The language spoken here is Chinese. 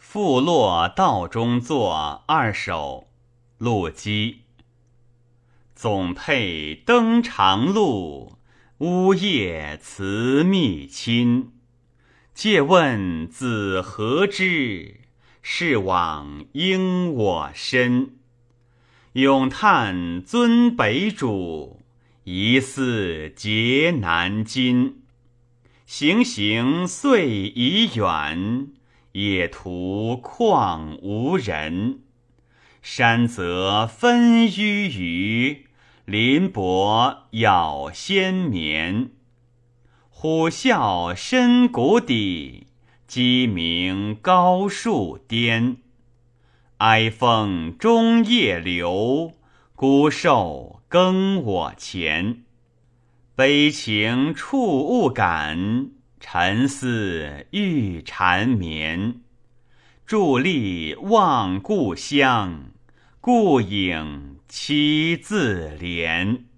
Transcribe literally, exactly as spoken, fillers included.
复落道中作二首，陆机。总配登长路，呜咽辞密亲。借问子何之？是往应我身。咏叹尊北主，疑似结南京。行行遂已远，野途况无人。山泽分迂余，林柏杳先绵。虎啸深谷底，鸡鸣高树巅。哀风中夜流，孤兽更我前。悲情触物感，沉思欲缠绵。伫立望故乡，故影凄自怜。